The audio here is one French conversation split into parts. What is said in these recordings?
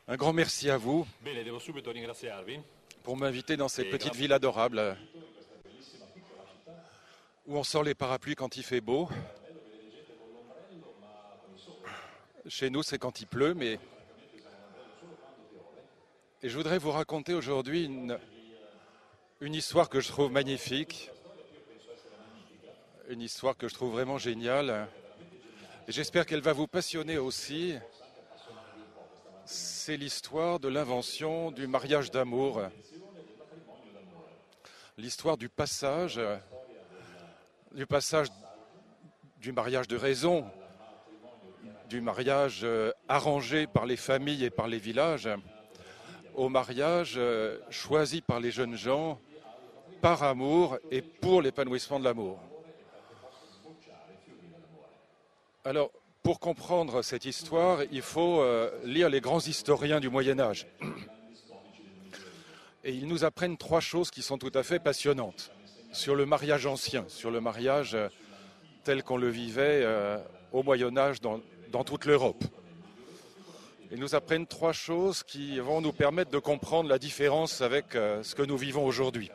Un grand merci à vous Bene, devo subito ringraziarvi pour m'inviter dans cette petite ville adorable où on sort les parapluies quand il fait beau. Chez nous, c'est quand il pleut, mais... Et je voudrais vous raconter aujourd'hui une histoire que je trouve magnifique, une histoire que je trouve vraiment géniale. Et j'espère qu'elle va vous passionner aussi. C'est l'histoire de l'invention du mariage d'amour, l'histoire du passage du mariage de raison, du mariage arrangé par les familles et par les villages, au mariage choisi par les jeunes gens par amour et pour l'épanouissement de l'amour. Alors, pour comprendre cette histoire, il faut lire les grands historiens du Moyen-Âge. Et ils nous apprennent trois choses qui sont tout à fait passionnantes sur le mariage ancien, sur le mariage tel qu'on le vivait au Moyen-Âge dans toute l'Europe. Ils nous apprennent trois choses qui vont nous permettre de comprendre la différence avec ce que nous vivons aujourd'hui.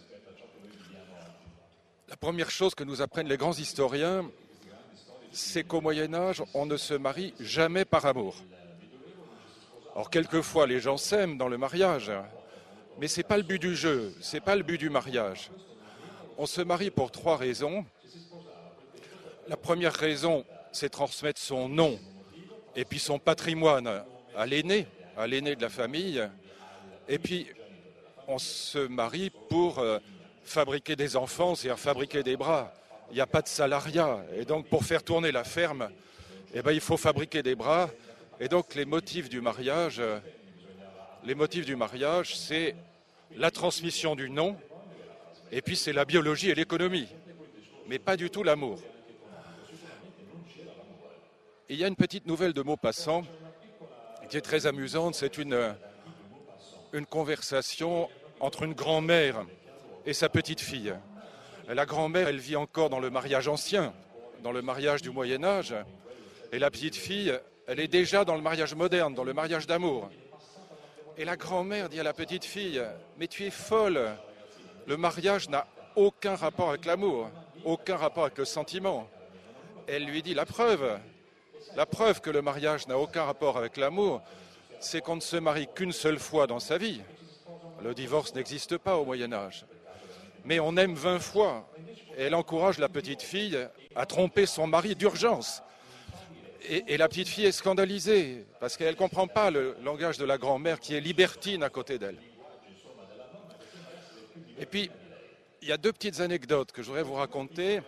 La première chose que nous apprennent les grands historiens, c'est qu'au Moyen-Âge, on ne se marie jamais par amour. Alors, quelquefois, les gens s'aiment dans le mariage, mais ce n'est pas le but du jeu, ce n'est pas le but du mariage. On se marie pour trois raisons. La première raison, c'est transmettre son nom et puis son patrimoine à l'aîné de la famille. Et puis, on se marie pour fabriquer des enfants, c'est-à-dire fabriquer des bras. Il n'y a pas de salariat. Et donc, pour faire tourner la ferme, il faut fabriquer des bras. Et donc, les motifs du mariage, c'est la transmission du nom, et puis c'est la biologie et l'économie, mais pas du tout l'amour. Il y a une petite nouvelle de Maupassant qui est très amusante. C'est une conversation entre une grand-mère et sa petite-fille. La grand-mère, elle vit encore dans le mariage ancien, dans le mariage du Moyen-Âge. Et la petite-fille, elle est déjà dans le mariage moderne, dans le mariage d'amour. Et la grand-mère dit à la petite-fille, « Mais tu es folle, le mariage n'a aucun rapport avec l'amour, aucun rapport avec le sentiment. » Elle lui dit, la preuve que le mariage n'a aucun rapport avec l'amour, c'est qu'on ne se marie qu'une seule fois dans sa vie. Le divorce n'existe pas au Moyen-Âge. Mais on aime 20 fois. Et elle encourage la petite fille à tromper son mari d'urgence. Et la petite fille est scandalisée, parce qu'elle ne comprend pas le langage de la grand-mère qui est libertine à côté d'elle. Et puis, il y a deux petites anecdotes que je voudrais vous raconter.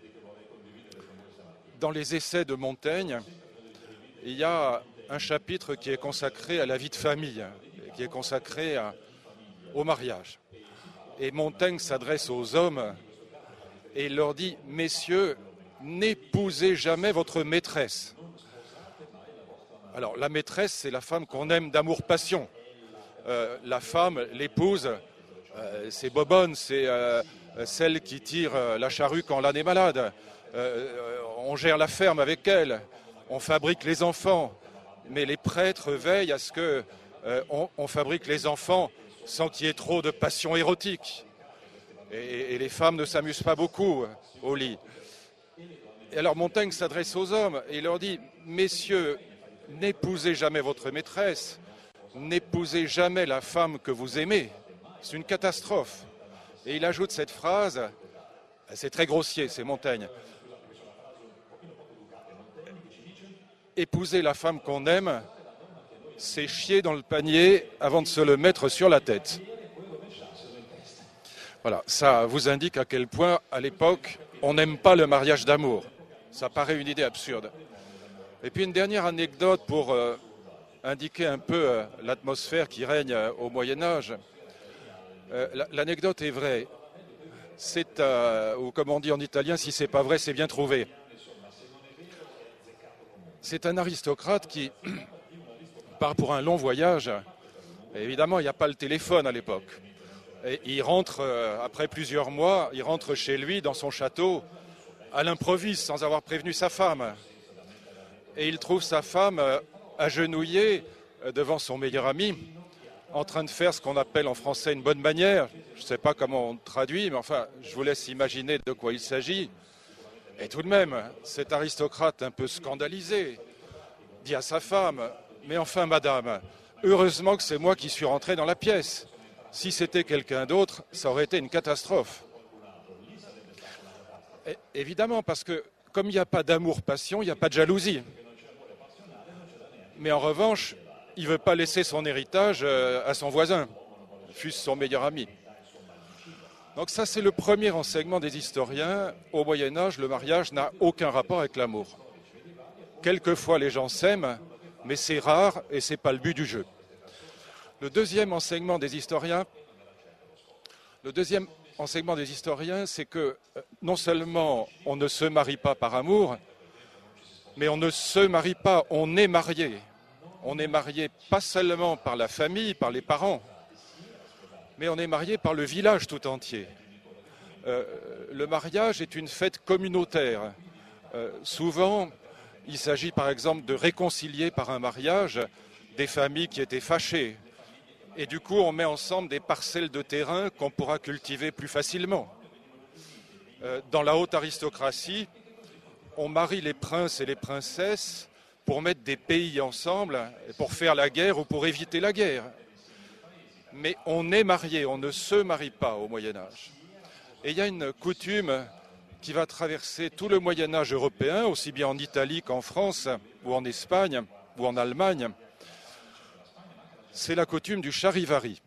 Dans les essais de Montaigne, il y a un chapitre qui est consacré à la vie de famille, qui est consacré au mariage. Et Montaigne s'adresse aux hommes et il leur dit « Messieurs, n'épousez jamais votre maîtresse. » Alors, la maîtresse, c'est la femme qu'on aime d'amour-passion. La femme, l'épouse, c'est bobonne, c'est celle qui tire la charrue quand l'âne est malade. On gère la ferme avec elle, on fabrique les enfants. Mais les prêtres veillent à ce qu'on fabrique les enfants sans qu'il y ait trop de passion érotique. Et les femmes ne s'amusent pas beaucoup au lit. Et alors Montaigne s'adresse aux hommes et il leur dit « Messieurs, n'épousez jamais votre maîtresse, n'épousez jamais la femme que vous aimez. C'est une catastrophe. » Et il ajoute cette phrase, c'est très grossier, c'est Montaigne. « Épouser la femme qu'on aime, c'est chier dans le panier avant de se le mettre sur la tête. » Voilà, ça vous indique à quel point, à l'époque, on n'aime pas le mariage d'amour. Ça paraît une idée absurde. Et puis une dernière anecdote pour indiquer un peu l'atmosphère qui règne au Moyen-Âge. L'anecdote est vraie. C'est, ou comme on dit en italien, si c'est pas vrai, c'est bien trouvé. C'est un aristocrate qui part pour un long voyage. Et évidemment, il n'y a pas le téléphone à l'époque. Et il rentre, après plusieurs mois, il rentre chez lui, dans son château, à l'improviste, sans avoir prévenu sa femme. Et il trouve sa femme agenouillée devant son meilleur ami, en train de faire ce qu'on appelle en français une bonne manière. Je ne sais pas comment on traduit, mais enfin, je vous laisse imaginer de quoi il s'agit. Et tout de même, cet aristocrate un peu scandalisé dit à sa femme « Mais enfin, madame, heureusement que c'est moi qui suis rentré dans la pièce. Si c'était quelqu'un d'autre, ça aurait été une catastrophe. » Et évidemment, parce que comme il n'y a pas d'amour-passion, il n'y a pas de jalousie. Mais en revanche, il ne veut pas laisser son héritage à son voisin, fût-ce son meilleur ami. Donc ça, c'est le premier enseignement des historiens. Au Moyen-Âge, le mariage n'a aucun rapport avec l'amour. Quelquefois, les gens s'aiment, mais c'est rare et ce n'est pas le but du jeu. Le deuxième enseignement des historiens, c'est que non seulement on ne se marie pas par amour, mais on ne se marie pas, on est marié. On est marié pas seulement par la famille, par les parents, mais on est marié par le village tout entier. Le mariage est une fête communautaire. Souvent, il s'agit par exemple de réconcilier par un mariage des familles qui étaient fâchées. Et du coup, on met ensemble des parcelles de terrain qu'on pourra cultiver plus facilement. Dans la haute aristocratie, on marie les princes et les princesses pour mettre des pays ensemble, pour faire la guerre ou pour éviter la guerre. Mais on est marié, on ne se marie pas au Moyen-Âge. Et il y a une coutume qui va traverser tout le Moyen-Âge européen, aussi bien en Italie qu'en France, ou en Espagne, ou en Allemagne. C'est la coutume du charivari.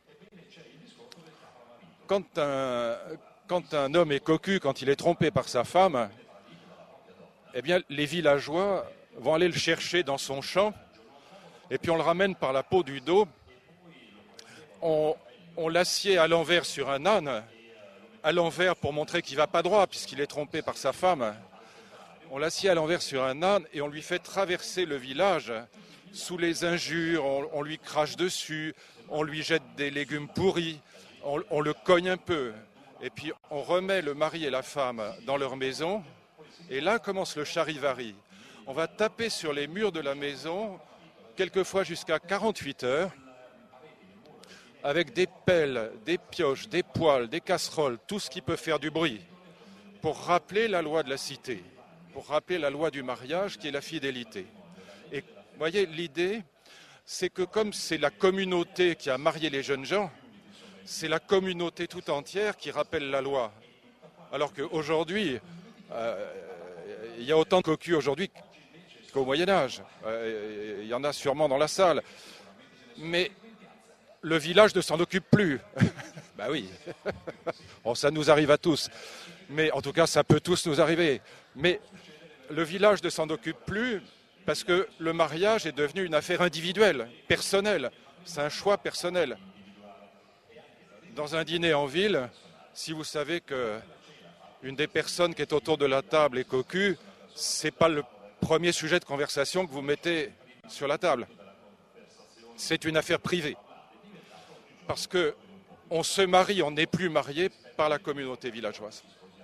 Quand un homme est cocu, quand il est trompé par sa femme, eh bien, les villageois vont aller le chercher dans son champ, et puis on le ramène par la peau du dos. On l'assied à l'envers sur un âne, à l'envers pour montrer qu'il ne va pas droit, puisqu'il est trompé par sa femme. On l'assied à l'envers sur un âne et on lui fait traverser le village sous les injures, on lui crache dessus, on lui jette des légumes pourris, on le cogne un peu. Et puis on remet le mari et la femme dans leur maison. Et là commence le charivari. On va taper sur les murs de la maison, quelquefois jusqu'à 48 heures, avec des pelles, des pioches, des poêles, des casseroles, tout ce qui peut faire du bruit, pour rappeler la loi de la cité, pour rappeler la loi du mariage qui est la fidélité. Et vous voyez, l'idée, c'est que comme c'est la communauté qui a marié les jeunes gens, c'est la communauté tout entière qui rappelle la loi. Alors qu'aujourd'hui, il y a autant de cocus aujourd'hui qu'au Moyen-Âge. Il y en a sûrement dans la salle. Mais le village ne s'en occupe plus. Ben oui, bon, ça nous arrive à tous. Mais en tout cas, ça peut tous nous arriver. Mais le village ne s'en occupe plus parce que le mariage est devenu une affaire individuelle, personnelle. C'est un choix personnel. Dans un dîner en ville, si vous savez qu'une des personnes qui est autour de la table est cocu, ce n'est pas le premier sujet de conversation que vous mettez sur la table. C'est une affaire privée. Parce qu'on se marie, on n'est plus marié par la communauté villageoise.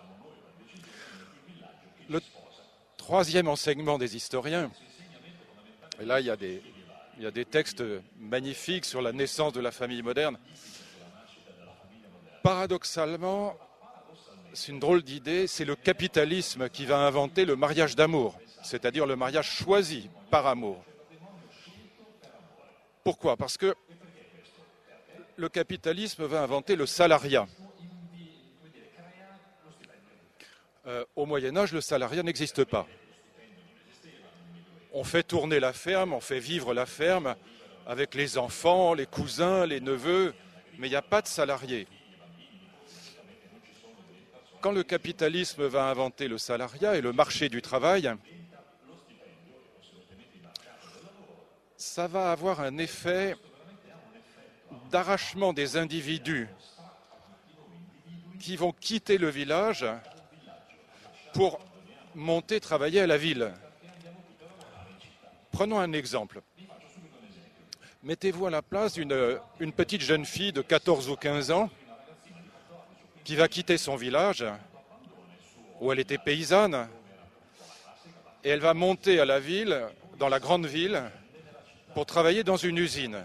Le troisième enseignement des historiens, et là il y a des textes magnifiques sur la naissance de la famille moderne. Paradoxalement, c'est une drôle d'idée, c'est le capitalisme qui va inventer le mariage d'amour, c'est-à-dire le mariage choisi par amour. Pourquoi ? Parce que le capitalisme va inventer le salariat. Au Moyen-Âge, le salariat n'existe pas. On fait tourner la ferme, on fait vivre la ferme avec les enfants, les cousins, les neveux, mais il n'y a pas de salariés. Quand le capitalisme va inventer le salariat et le marché du travail, ça va avoir un effet d'arrachement des individus qui vont quitter le village pour monter travailler à la ville. Prenons un exemple. Mettez-vous à la place d'une petite jeune fille de 14 ou 15 ans qui va quitter son village où elle était paysanne et elle va monter à la ville, dans la grande ville, pour travailler dans une usine.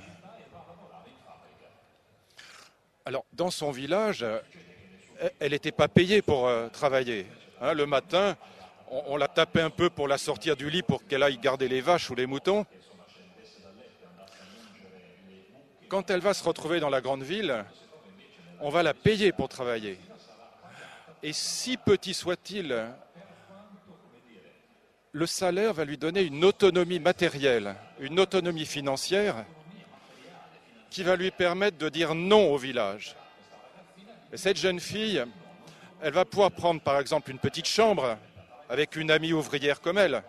Alors, dans son village, elle n'était pas payée pour travailler. Hein, le matin, on la tapait un peu pour la sortir du lit pour qu'elle aille garder les vaches ou les moutons. Quand elle va se retrouver dans la grande ville, on va la payer pour travailler. Et si petit soit-il, le salaire va lui donner une autonomie matérielle, une autonomie financière qui va lui permettre de dire non au village. Et cette jeune fille, elle va pouvoir prendre par exemple une petite chambre avec une amie ouvrière comme elle.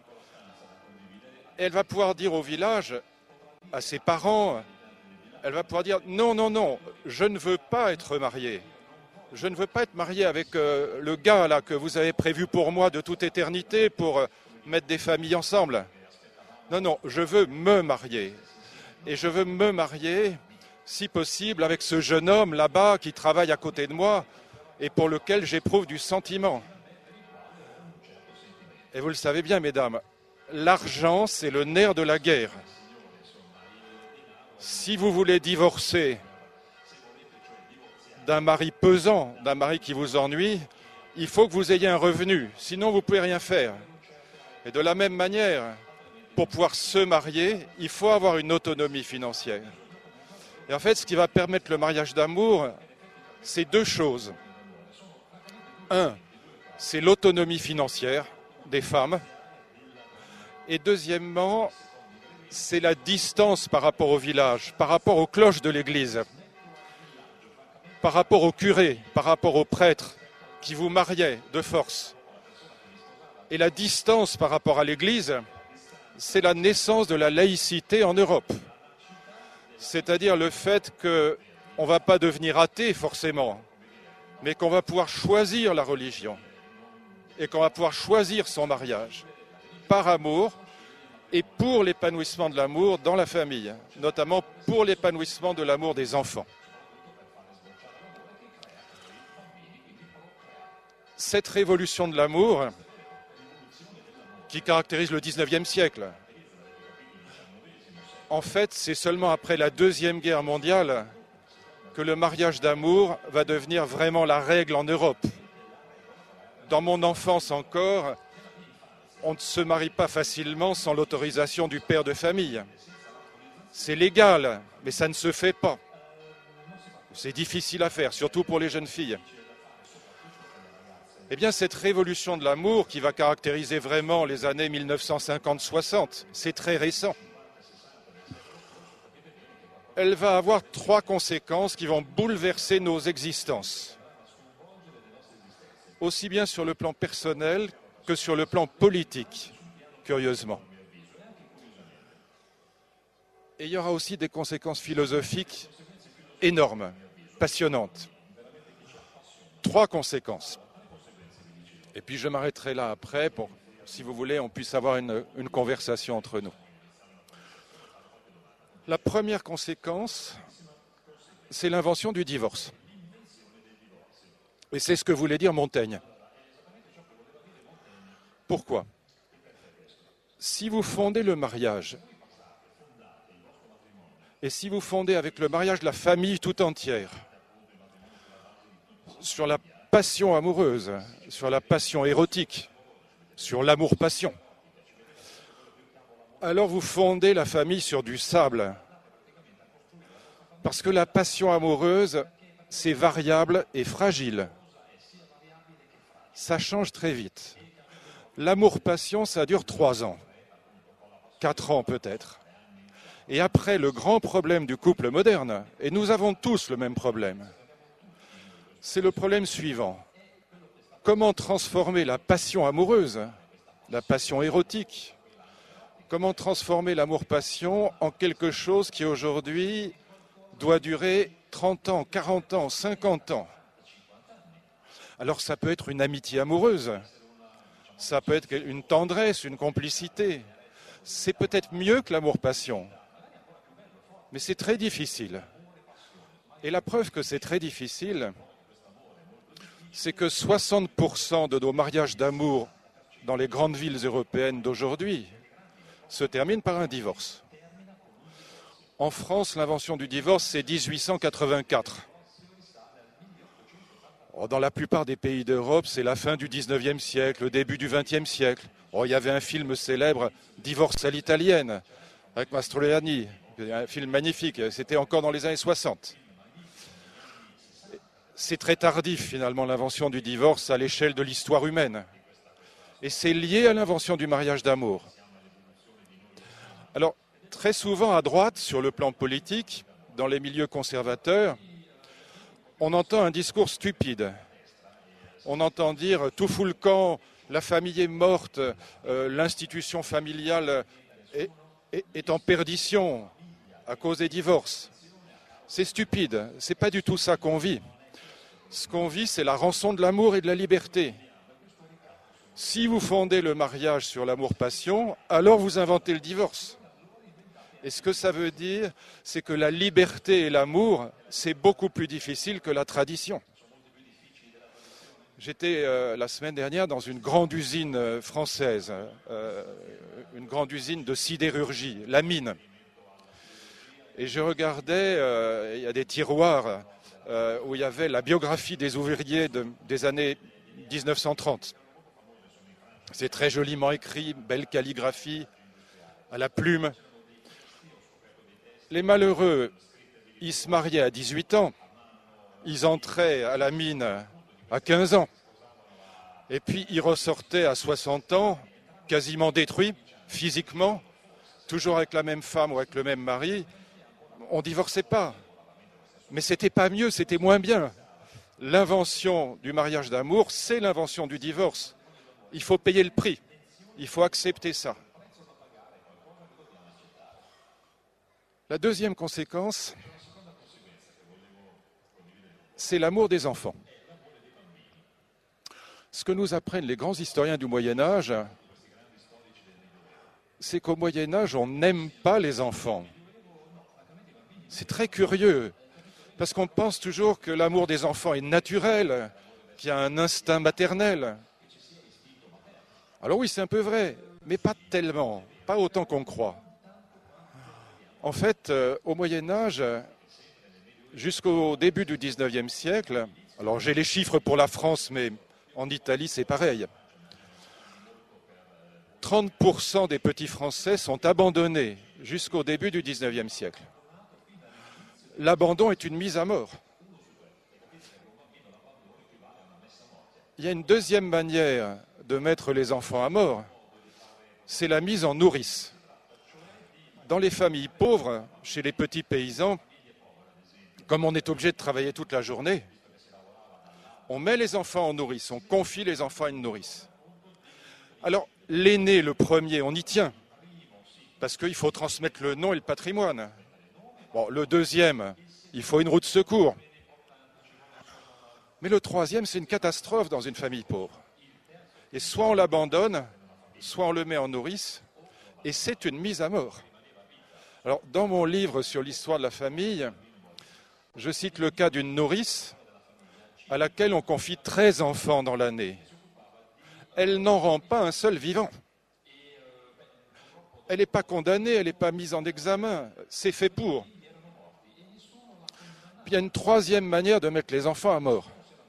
Et elle va pouvoir dire au village, à ses parents, elle va pouvoir dire non, non, non, je ne veux pas être mariée. Je ne veux pas être mariée avec le gars là que vous avez prévu pour moi de toute éternité pour mettre des familles ensemble. Non, non, je veux me marier. Et je veux me marier, si possible, avec ce jeune homme là-bas qui travaille à côté de moi et pour lequel j'éprouve du sentiment. Et vous le savez bien, mesdames, l'argent, c'est le nerf de la guerre. Si vous voulez divorcer d'un mari pesant, d'un mari qui vous ennuie, il faut que vous ayez un revenu, sinon vous ne pouvez rien faire. Et de la même manière, pour pouvoir se marier, il faut avoir une autonomie financière. Et en fait, ce qui va permettre le mariage d'amour, c'est deux choses. Un, c'est l'autonomie financière des femmes. Et deuxièmement, c'est la distance par rapport au village, par rapport aux cloches de l'église, par rapport au curé, par rapport au prêtre qui vous mariait de force. Et la distance par rapport à l'église, c'est la naissance de la laïcité en Europe. C'est-à-dire le fait qu'on ne va pas devenir athée forcément, mais qu'on va pouvoir choisir la religion et qu'on va pouvoir choisir son mariage par amour et pour l'épanouissement de l'amour dans la famille, notamment pour l'épanouissement de l'amour des enfants. Cette révolution de l'amour qui caractérise le XIXe siècle, en fait, c'est seulement après la Deuxième Guerre mondiale que le mariage d'amour va devenir vraiment la règle en Europe. Dans mon enfance encore, on ne se marie pas facilement sans l'autorisation du père de famille. C'est légal, mais ça ne se fait pas. C'est difficile à faire, surtout pour les jeunes filles. Eh bien, cette révolution de l'amour qui va caractériser vraiment les années 1950-60, c'est très récent. Elle va avoir trois conséquences qui vont bouleverser nos existences, aussi bien sur le plan personnel que sur le plan politique, curieusement. Et il y aura aussi des conséquences philosophiques énormes, passionnantes. Trois conséquences. Et puis je m'arrêterai là après pour, si vous voulez, on puisse avoir une conversation entre nous. La première conséquence, c'est l'invention du divorce. Et c'est ce que voulait dire Montaigne. Pourquoi ? Si vous fondez le mariage, et si vous fondez avec le mariage la famille tout entière, sur la passion amoureuse, sur la passion érotique, sur l'amour-passion, alors vous fondez la famille sur du sable. Parce que la passion amoureuse, c'est variable et fragile. Ça change très vite. L'amour-passion, ça dure 3 ans, 4 ans peut-être. Et après, le grand problème du couple moderne, et nous avons tous le même problème, c'est le problème suivant. Comment transformer la passion amoureuse, la passion érotique, comment transformer l'amour-passion en quelque chose qui aujourd'hui doit durer 30 ans, 40 ans, 50 ans. Alors ça peut être une amitié amoureuse, ça peut être une tendresse, une complicité. C'est peut-être mieux que l'amour-passion, mais c'est très difficile. Et la preuve que c'est très difficile, c'est que 60% de nos mariages d'amour dans les grandes villes européennes d'aujourd'hui se terminent par un divorce. En France, l'invention du divorce, c'est 1884. Dans la plupart des pays d'Europe, c'est la fin du 19e siècle, le début du 20e siècle. Il y avait un film célèbre, Divorce à l'italienne, avec Mastroianni, un film magnifique, c'était encore dans les années 60. C'est très tardif, finalement, l'invention du divorce à l'échelle de l'histoire humaine. Et c'est lié à l'invention du mariage d'amour. Alors, très souvent à droite, sur le plan politique, dans les milieux conservateurs, on entend un discours stupide. On entend dire « tout fout le camp, la famille est morte, l'institution familiale est en perdition à cause des divorces ». C'est stupide, ce n'est pas du tout ça qu'on vit. Ce qu'on vit, c'est la rançon de l'amour et de la liberté. Si vous fondez le mariage sur l'amour-passion, alors vous inventez le divorce. Et ce que ça veut dire, c'est que la liberté et l'amour, c'est beaucoup plus difficile que la tradition. J'étais la semaine dernière dans une grande usine française, une grande usine de sidérurgie, la mine. Et je regardais, il y a des tiroirs où il y avait la biographie des ouvriers des années 1930. C'est très joliment écrit, belle calligraphie, à la plume. Les malheureux, ils se mariaient à 18 ans, ils entraient à la mine à 15 ans, et puis ils ressortaient à 60 ans, quasiment détruits, physiquement, toujours avec la même femme ou avec le même mari. On ne divorçait pas, mais c'était pas mieux, c'était moins bien. L'invention du mariage d'amour, c'est l'invention du divorce. Il faut payer le prix, il faut accepter ça. La deuxième conséquence, c'est l'amour des enfants. Ce que nous apprennent les grands historiens du Moyen-Âge, c'est qu'au Moyen-Âge, on n'aime pas les enfants. C'est très curieux, parce qu'on pense toujours que l'amour des enfants est naturel, qu'il y a un instinct maternel. Alors oui, c'est un peu vrai, mais pas tellement, pas autant qu'on croit. En fait, au Moyen-Âge, jusqu'au début du XIXe siècle, alors j'ai les chiffres pour la France, mais en Italie c'est pareil, 30% des petits Français sont abandonnés jusqu'au début du XIXe siècle. L'abandon est une mise à mort. Il y a une deuxième manière de mettre les enfants à mort, c'est la mise en nourrice. Dans les familles pauvres, chez les petits paysans, comme on est obligé de travailler toute la journée, on met les enfants en nourrice, on confie les enfants à une nourrice. Alors, l'aîné, le premier, on y tient, parce qu'il faut transmettre le nom et le patrimoine. Bon, le deuxième, il faut une roue de secours. Mais le troisième, c'est une catastrophe dans une famille pauvre. Et soit on l'abandonne, soit on le met en nourrice, et c'est une mise à mort. Alors, dans mon livre sur l'histoire de la famille, je cite le cas d'une nourrice à laquelle on confie 13 enfants dans l'année. Elle n'en rend pas un seul vivant. Elle n'est pas condamnée, elle n'est pas mise en examen, c'est fait pour. Puis il y a une troisième manière de mettre les enfants à mort.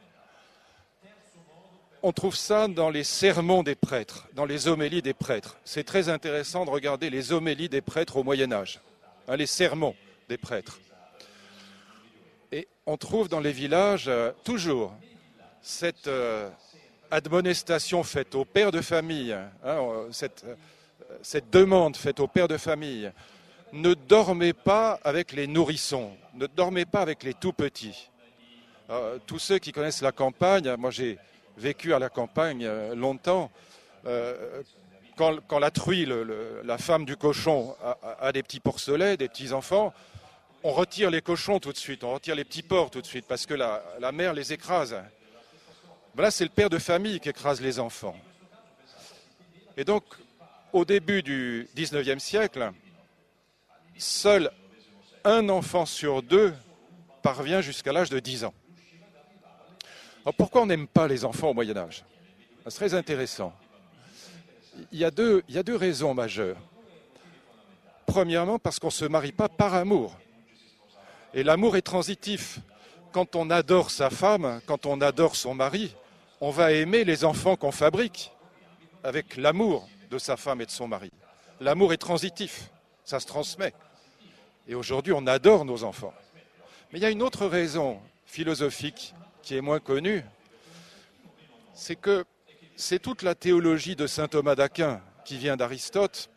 On trouve ça dans les sermons des prêtres, dans les homélies des prêtres. C'est très intéressant de regarder les homélies des prêtres au Moyen-Âge, les sermons des prêtres. Et on trouve dans les villages toujours cette admonestation faite aux pères de famille, cette demande faite aux pères de famille. Ne dormez pas avec les nourrissons, ne dormez pas avec les tout-petits. Tous ceux qui connaissent la campagne, moi j'ai vécu à la campagne longtemps, quand la truie, la femme du cochon, a des petits porcelets, des petits-enfants, on retire les cochons tout de suite, on retire les petits porcs tout de suite, parce que la mère les écrase. Ben là, c'est le père de famille qui écrase les enfants. Et donc, au début du XIXe siècle, seul un enfant sur deux parvient jusqu'à l'âge de 10 ans. Alors pourquoi on n'aime pas les enfants au Moyen-Âge? C'est très intéressant. Il y a deux raisons majeures. Premièrement, parce qu'on ne se marie pas par amour. Et l'amour est transitif. Quand on adore sa femme, quand on adore son mari, on va aimer les enfants qu'on fabrique avec l'amour de sa femme et de son mari. L'amour est transitif, ça se transmet. Et aujourd'hui, on adore nos enfants. Mais il y a une autre raison philosophique qui est moins connue, c'est que c'est toute la théologie de saint Thomas d'Aquin qui vient d'Aristote.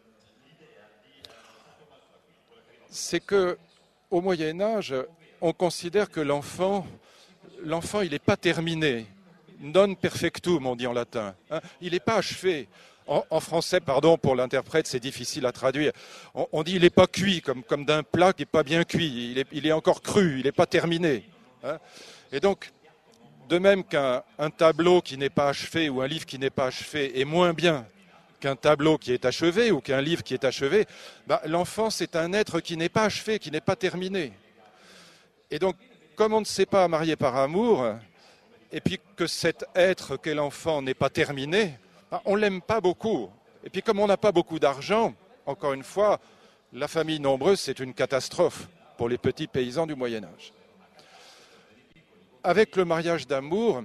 C'est qu'au Moyen-Âge, on considère que l'enfant, il n'est pas terminé. Non perfectum, on dit en latin. Il n'est pas achevé. En français, pardon, pour l'interprète, c'est difficile à traduire. On dit il n'est pas cuit, comme d'un plat qui n'est pas bien cuit. Il est encore cru, il n'est pas terminé. Et donc, de même qu'un tableau qui n'est pas achevé ou un livre qui n'est pas achevé est moins bien qu'un tableau qui est achevé ou qu'un livre qui est achevé, l'enfant, c'est un être qui n'est pas achevé, qui n'est pas terminé. Et donc, comme on ne sait pas marier par amour, et puis que cet être qu'est l'enfant n'est pas terminé, on ne l'aime pas beaucoup. Et puis comme on n'a pas beaucoup d'argent, encore une fois, la famille nombreuse, c'est une catastrophe pour les petits paysans du Moyen-Âge. Avec le mariage d'amour,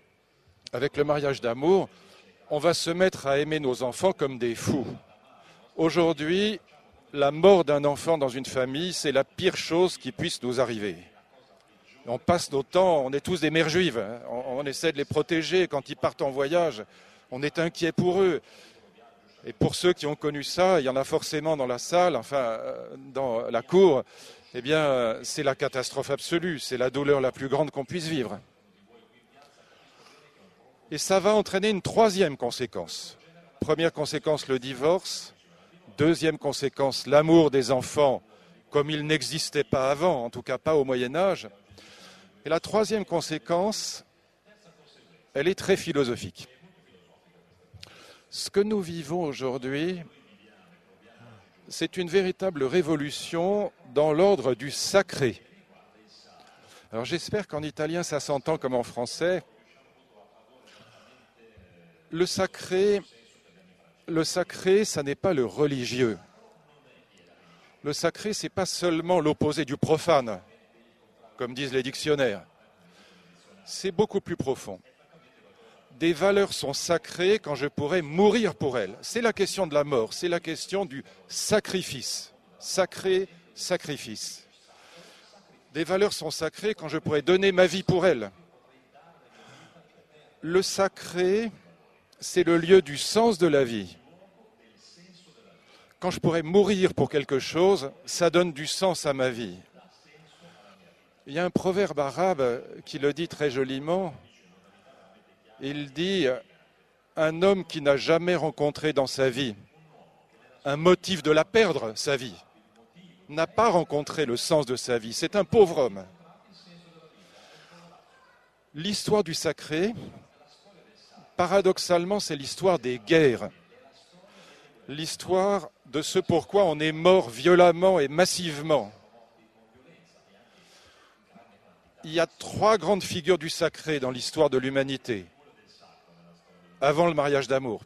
on va se mettre à aimer nos enfants comme des fous. Aujourd'hui, la mort d'un enfant dans une famille, c'est la pire chose qui puisse nous arriver. On passe nos temps, on est tous des mères juives, on essaie de les protéger quand ils partent en voyage, on est inquiet pour eux. Et pour ceux qui ont connu ça, il y en a forcément dans la salle, enfin dans la cour, eh bien c'est la catastrophe absolue, c'est la douleur la plus grande qu'on puisse vivre. Et ça va entraîner une troisième conséquence. Première conséquence, le divorce. Deuxième conséquence, l'amour des enfants comme il n'existait pas avant, en tout cas pas au Moyen-Âge. Et la troisième conséquence, elle est très philosophique. Ce que nous vivons aujourd'hui, c'est une véritable révolution dans l'ordre du sacré. Alors j'espère qu'en italien ça s'entend comme en français. Le sacré, ça n'est pas le religieux. Le sacré, ce n'est pas seulement l'opposé du profane, comme disent les dictionnaires. C'est beaucoup plus profond. Des valeurs sont sacrées quand je pourrais mourir pour elles. C'est la question de la mort, c'est la question du sacrifice. Sacré, sacrifice. Des valeurs sont sacrées quand je pourrais donner ma vie pour elles. Le sacré, c'est le lieu du sens de la vie. Quand je pourrais mourir pour quelque chose, ça donne du sens à ma vie. Il y a un proverbe arabe qui le dit très joliment. Il dit « Un homme qui n'a jamais rencontré dans sa vie un motif de la perdre, sa vie, n'a pas rencontré le sens de sa vie. C'est un pauvre homme. » L'histoire du sacré, paradoxalement, c'est l'histoire des guerres. L'histoire de ce pourquoi on est mort violemment et massivement. Il y a 3 grandes figures du sacré dans l'histoire de l'humanité, avant le mariage d'amour.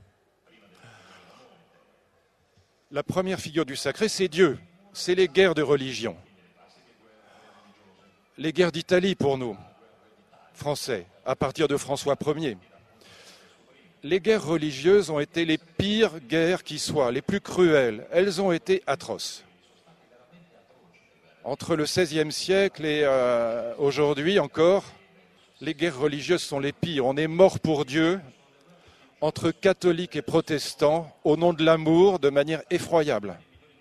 La première figure du sacré, c'est Dieu. C'est les guerres de religion. Les guerres d'Italie pour nous, Français, à partir de François Ier. Les guerres religieuses ont été les pires guerres qui soient, les plus cruelles. Elles ont été atroces. Entre le XVIe siècle et aujourd'hui encore, les guerres religieuses sont les pires. On est mort pour Dieu entre catholiques et protestants au nom de l'amour de manière effroyable.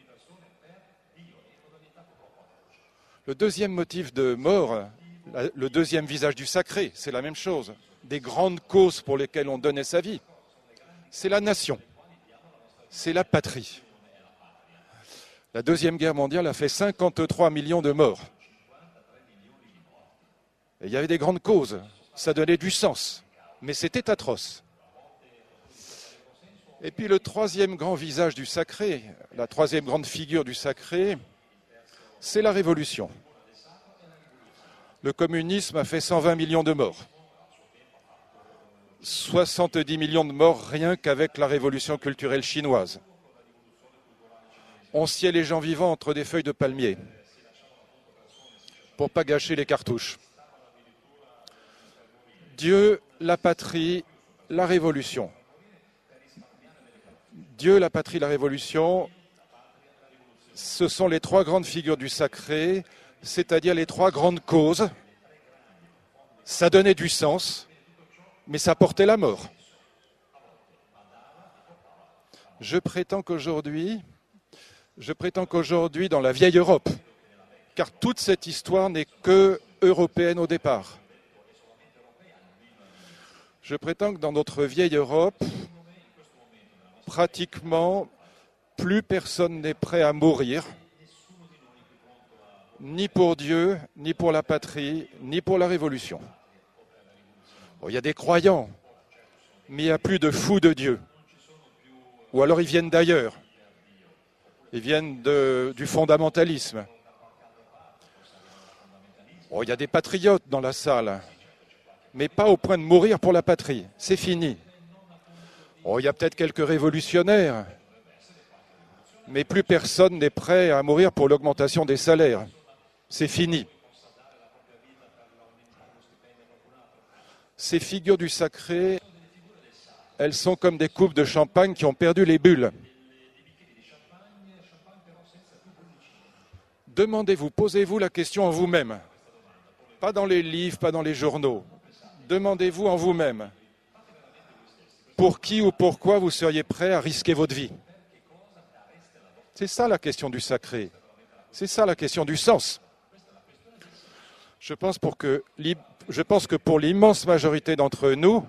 Le deuxième motif de mort, le deuxième visage du sacré, c'est la même chose. Des grandes causes pour lesquelles on donnait sa vie, c'est la nation, c'est la patrie. La Deuxième Guerre mondiale a fait 53 millions de morts. Et il y avait des grandes causes, ça donnait du sens, mais c'était atroce. Et puis le troisième grand visage du sacré, la troisième grande figure du sacré, c'est la révolution. Le communisme a fait 120 millions de morts. 70 millions de morts rien qu'avec la révolution culturelle chinoise. on sciait les gens vivants entre des feuilles de palmier pour pas gâcher les cartouches. Dieu, la patrie, la révolution. Dieu, la patrie, la révolution, ce sont les trois grandes figures du sacré, c'est-à-dire les trois grandes causes. Ça donnait du sens, mais ça portait la mort. Je prétends qu'aujourd'hui, dans la vieille Europe, car toute cette histoire n'est que européenne au départ, je prétends que dans notre vieille Europe, pratiquement, plus personne n'est prêt à mourir, ni pour Dieu, ni pour la patrie, ni pour la révolution. Bon, il y a des croyants, mais il n'y a plus de fous de Dieu. Ou alors ils viennent d'ailleurs. Ils viennent du fondamentalisme. Bon, il y a des patriotes dans la salle, mais pas au point de mourir pour la patrie. C'est fini. Bon, il y a peut-être quelques révolutionnaires, mais plus personne n'est prêt à mourir pour l'augmentation des salaires. C'est fini. Ces figures du sacré, elles sont comme des coupes de champagne qui ont perdu les bulles. Demandez-vous, posez-vous la question en vous-même. Pas dans les livres, pas dans les journaux. Demandez-vous en vous-même. Pour qui ou pourquoi vous seriez prêt à risquer votre vie? C'est ça la question du sacré. C'est ça la question du sens. Je pense que pour l'immense majorité d'entre nous,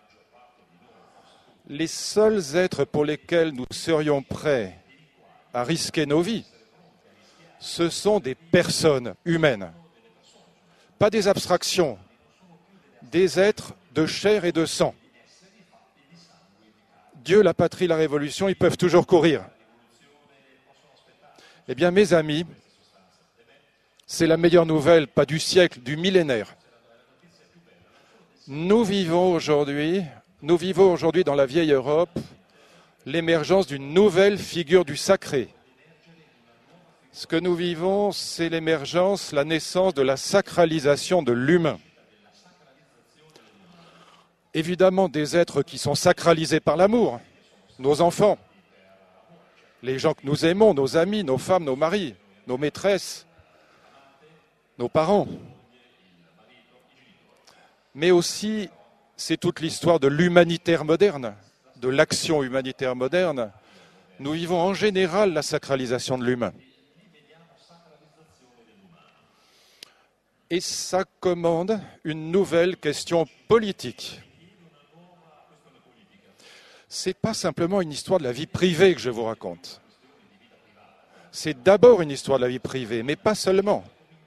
les seuls êtres pour lesquels nous serions prêts à risquer nos vies, ce sont des personnes humaines, pas des abstractions, des êtres de chair et de sang. Dieu, la patrie, la révolution, ils peuvent toujours courir. Eh bien, mes amis, c'est la meilleure nouvelle, pas du siècle, du millénaire. Nous vivons aujourd'hui dans la vieille Europe l'émergence d'une nouvelle figure du sacré. Ce que nous vivons, c'est l'émergence, la naissance de la sacralisation de l'humain. Évidemment, des êtres qui sont sacralisés par l'amour, nos enfants, les gens que nous aimons, nos amis, nos femmes, nos maris, nos maîtresses, nos parents. Mais aussi, c'est toute l'histoire de l'humanitaire moderne, de l'action humanitaire moderne. Nous vivons en général la sacralisation de l'humain. Et ça commande une nouvelle question politique. Ce n'est pas simplement une histoire de la vie privée que je vous raconte. C'est d'abord une histoire de la vie privée, mais pas seulement.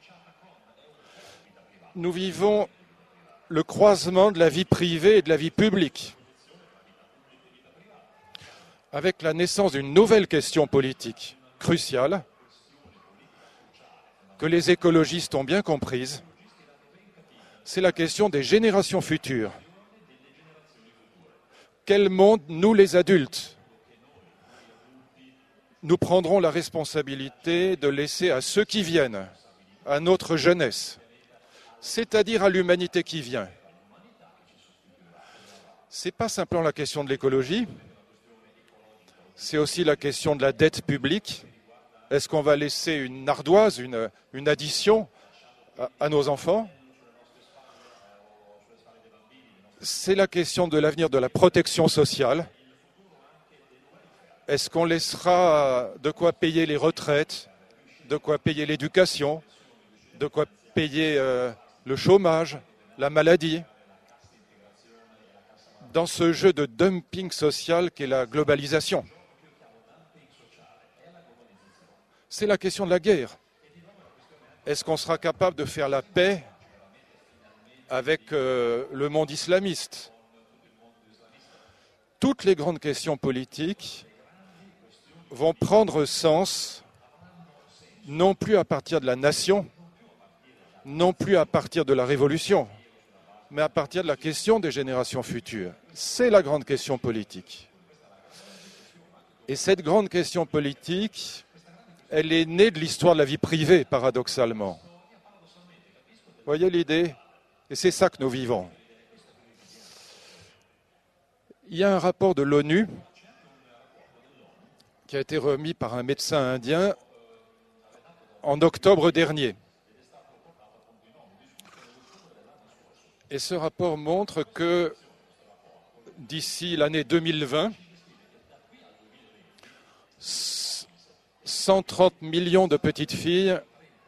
Nous vivons le croisement de la vie privée et de la vie publique, avec la naissance d'une nouvelle question politique cruciale, que les écologistes ont bien comprise, c'est la question des générations futures. Quel monde, nous les adultes, nous prendrons la responsabilité de laisser à ceux qui viennent, à notre jeunesse, c'est-à-dire à l'humanité qui vient. Ce n'est pas simplement la question de l'écologie, c'est aussi la question de la dette publique. Est-ce qu'on va laisser une ardoise, une addition à nos enfants? C'est la question de l'avenir de la protection sociale. Est-ce qu'on laissera de quoi payer les retraites, de quoi payer l'éducation, de quoi payer le chômage, la maladie, dans ce jeu de dumping social qu'est la globalisation? C'est la question de la guerre. Est-ce qu'on sera capable de faire la paix avec le monde islamiste? Toutes les grandes questions politiques vont prendre sens non plus à partir de la nation, non plus à partir de la révolution, mais à partir de la question des générations futures. C'est la grande question politique. Et cette grande question politique, elle est née de l'histoire de la vie privée, paradoxalement. Vous voyez l'idée? Et c'est ça que nous vivons. Il y a un rapport de l'ONU qui a été remis par un médecin indien en octobre dernier. Et ce rapport montre que d'ici l'année 2020, 130 millions de petites filles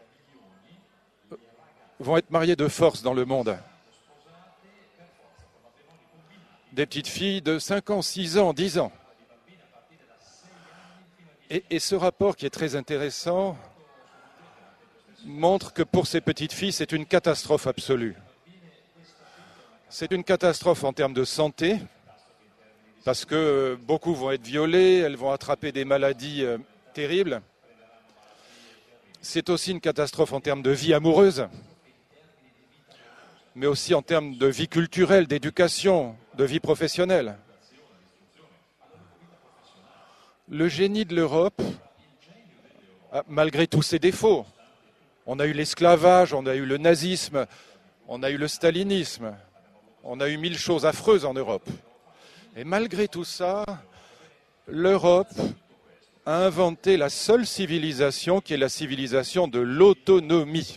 vont être mariées de force dans le monde. Des petites filles de 5 ans, 6 ans, 10 ans. Et ce rapport qui est très intéressant montre que pour ces petites filles, c'est une catastrophe absolue. C'est une catastrophe en termes de santé, parce que beaucoup vont être violées, elles vont attraper des maladies terribles. C'est aussi une catastrophe en termes de vie amoureuse, mais aussi en termes de vie culturelle, d'éducation, de vie professionnelle. Le génie de l'Europe, malgré tous ses défauts, on a eu l'esclavage, on a eu le nazisme, on a eu le stalinisme, on a eu 1000 choses affreuses en Europe. Et malgré tout ça, l'Europe a inventé la seule civilisation qui est la civilisation de l'autonomie.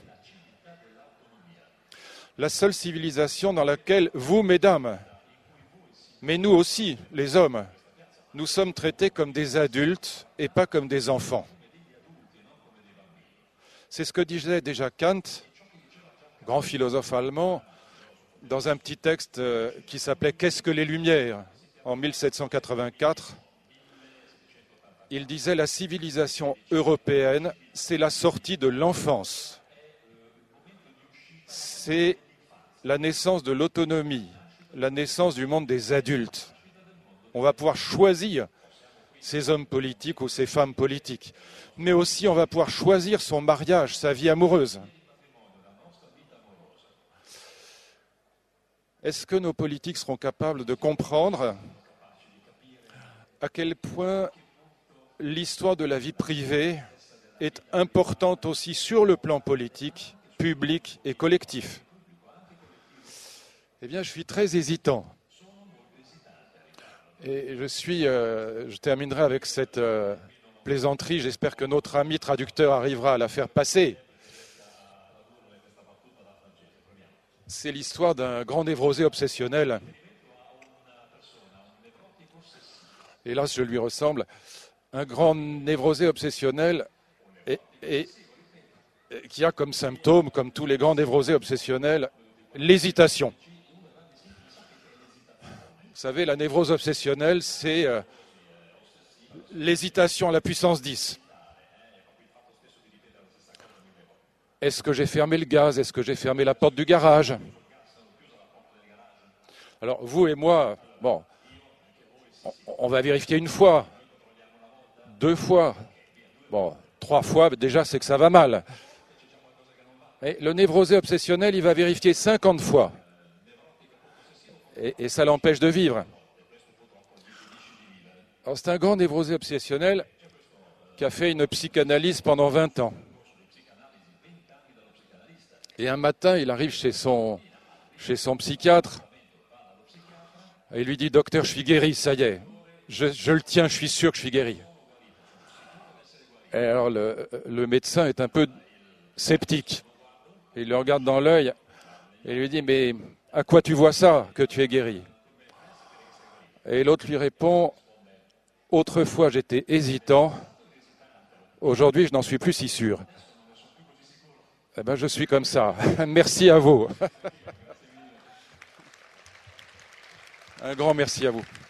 La seule civilisation dans laquelle vous, mesdames, mais nous aussi, les hommes, nous sommes traités comme des adultes et pas comme des enfants. C'est ce que disait déjà Kant, grand philosophe allemand, dans un petit texte qui s'appelait « Qu'est-ce que les Lumières ?» en 1784. Il disait « La civilisation européenne, c'est la sortie de l'enfance. C'est la naissance de l'autonomie, la naissance du monde des adultes. On va pouvoir choisir ces hommes politiques ou ces femmes politiques, mais aussi on va pouvoir choisir son mariage, sa vie amoureuse. » Est-ce que nos politiques seront capables de comprendre à quel point l'histoire de la vie privée est importante aussi sur le plan politique, public et collectif? Eh bien, je suis très hésitant. Et je terminerai avec cette plaisanterie. J'espère que notre ami traducteur arrivera à la faire passer. C'est l'histoire d'un grand névrosé obsessionnel. Hélas, je lui ressemble. Un grand névrosé obsessionnel qui a comme symptôme, comme tous les grands névrosés obsessionnels, l'hésitation. Vous savez, la névrose obsessionnelle, c'est l'hésitation à la puissance 10. Est-ce que j'ai fermé le gaz? Est-ce que j'ai fermé la porte du garage? Alors, vous et moi, bon, on va vérifier une fois, 2 fois, bon, 3 fois, déjà, c'est que ça va mal. Et le névrosé obsessionnel, il va vérifier 50 fois. Et ça l'empêche de vivre. Alors, c'est un grand névrosé obsessionnel qui a fait une psychanalyse pendant 20 ans. Et un matin, il arrive chez son psychiatre et il lui dit « Docteur, je suis guéri, ça y est. Je le tiens, je suis sûr que je suis guéri. » Et alors le médecin est un peu sceptique. Il le regarde dans l'œil et lui dit « Mais à quoi tu vois ça, que tu es guéri ?» Et l'autre lui répond « Autrefois, j'étais hésitant. Aujourd'hui, je n'en suis plus si sûr. » Eh bien, je suis comme ça. Merci à vous. Un grand merci à vous.